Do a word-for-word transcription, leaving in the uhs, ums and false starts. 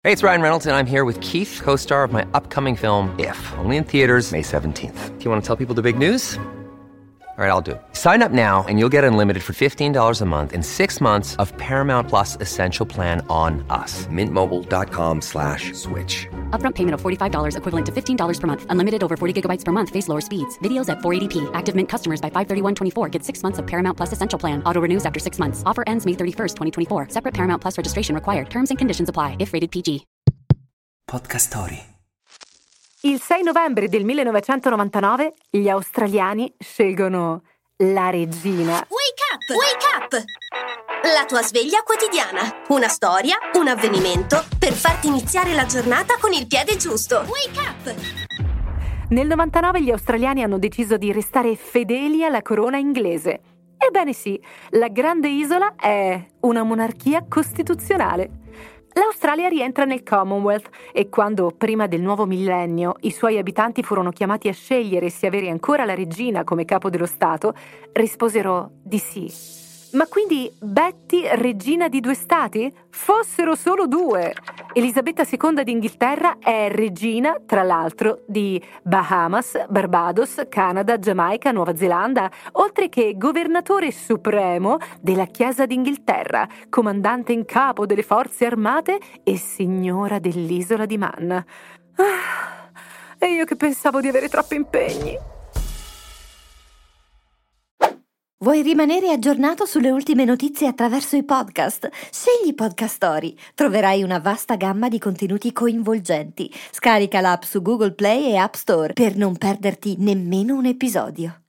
Hey, it's Ryan Reynolds, and I'm here with Keith, co-star of my upcoming film, If, only in theaters May seventeenth. Do you want to tell people the big news? All right, I'll do it. Sign up now and you'll get unlimited for fifteen dollars a month and six months of Paramount Plus Essential Plan on us. Mint Mobile dot com slash switch. Upfront payment of forty-five dollars equivalent to fifteen dollars per month. Unlimited over forty gigabytes per month. Face lower speeds. Videos at four eighty p. Active Mint customers by five thirty-one twenty-four get six months of Paramount Plus Essential Plan. Auto renews after six months. Offer ends May thirty-first, twenty twenty-four. Separate Paramount Plus registration required. Terms and conditions apply if rated P G. Podcast Story. Il sei novembre del millenovecentonovantanove gli australiani scelgono la regina. Wake up! Wake up! La tua sveglia quotidiana. Una storia, un avvenimento per farti iniziare la giornata con il piede giusto. Wake up! Nel novantanove gli australiani hanno deciso di restare fedeli alla corona inglese. Ebbene sì, la grande isola è una monarchia costituzionale. L'Australia rientra nel Commonwealth e quando, prima del nuovo millennio, i suoi abitanti furono chiamati a scegliere se avere ancora la regina come capo dello Stato, risposero di sì. Ma quindi Betty regina di due stati? Fossero solo due! Elisabetta seconda d'Inghilterra è regina, tra l'altro, di Bahamas, Barbados, Canada, Giamaica, Nuova Zelanda, oltre che governatore supremo della Chiesa d'Inghilterra, comandante in capo delle forze armate e signora dell'isola di Man. Ah, e io che pensavo di avere troppi impegni. Vuoi rimanere aggiornato sulle ultime notizie attraverso i podcast? Scegli Podcast Story. Troverai una vasta gamma di contenuti coinvolgenti. Scarica l'app su Google Play e App Store per non perderti nemmeno un episodio.